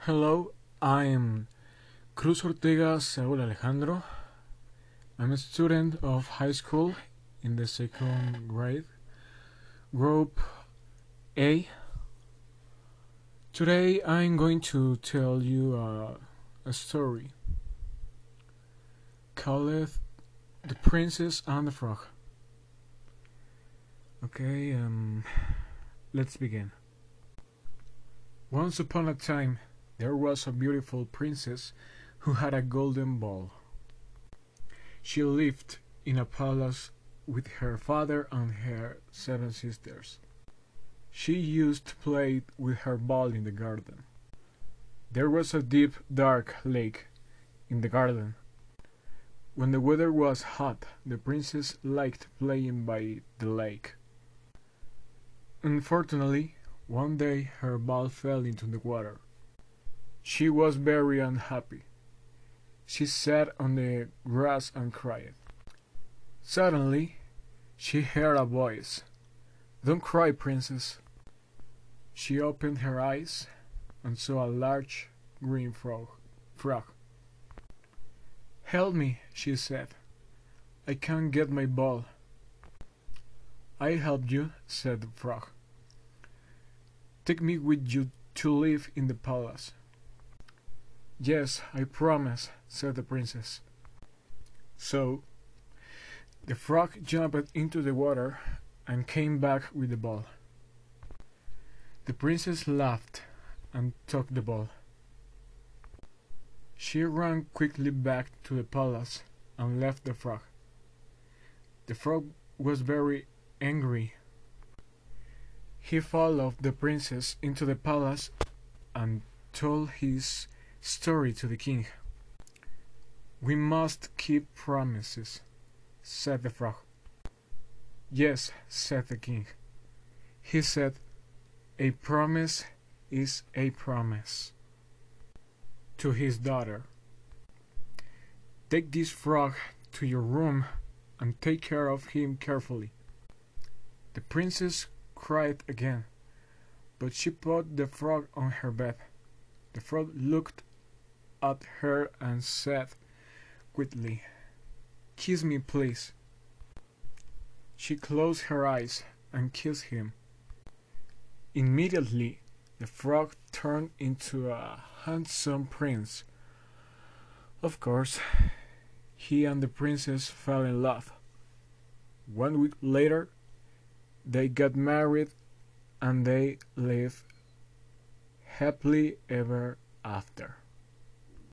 Hello, I'm Cruz Ortega Saúl Alejandro. I'm a student of high school in the second grade, group A. Today I'm going to tell you a story called The Princess and the Frog. Okay, let's begin. Once upon a time, there was a beautiful princess who had a golden ball. She lived in a palace with her father and her 7 sisters. She used to play with her ball in the garden. There was a deep, dark lake in the garden. When the weather was hot, the princess liked playing by the lake. Unfortunately, one day her ball fell into the water. She was very unhappy. She sat on the grass and cried. Suddenly, she heard a voice. "Don't cry, princess." She opened her eyes and saw a large green frog. "Help me," she said. "I can't get my ball." "I'll help you," said the frog. "Take me with you to live in the palace." "Yes, I promise," said the princess. So, the frog jumped into the water and came back with the ball. The princess laughed and took the ball. She ran quickly back to the palace and left the frog. The frog was very angry. He followed the princess into the palace and told his story to the king. "We must keep promises," said the frog. "Yes," said the king. He said, "A promise is a promise." To his daughter, "Take this frog to your room and take care of him carefully." The princess cried again, but she put the frog on her bed. The frog looked at her and said quietly, "Kiss me, please." She closed her eyes and kissed him. Immediately, the frog turned into a handsome prince. Of course, he and the princess fell in love. 1 week later, they got married and they lived happily ever after.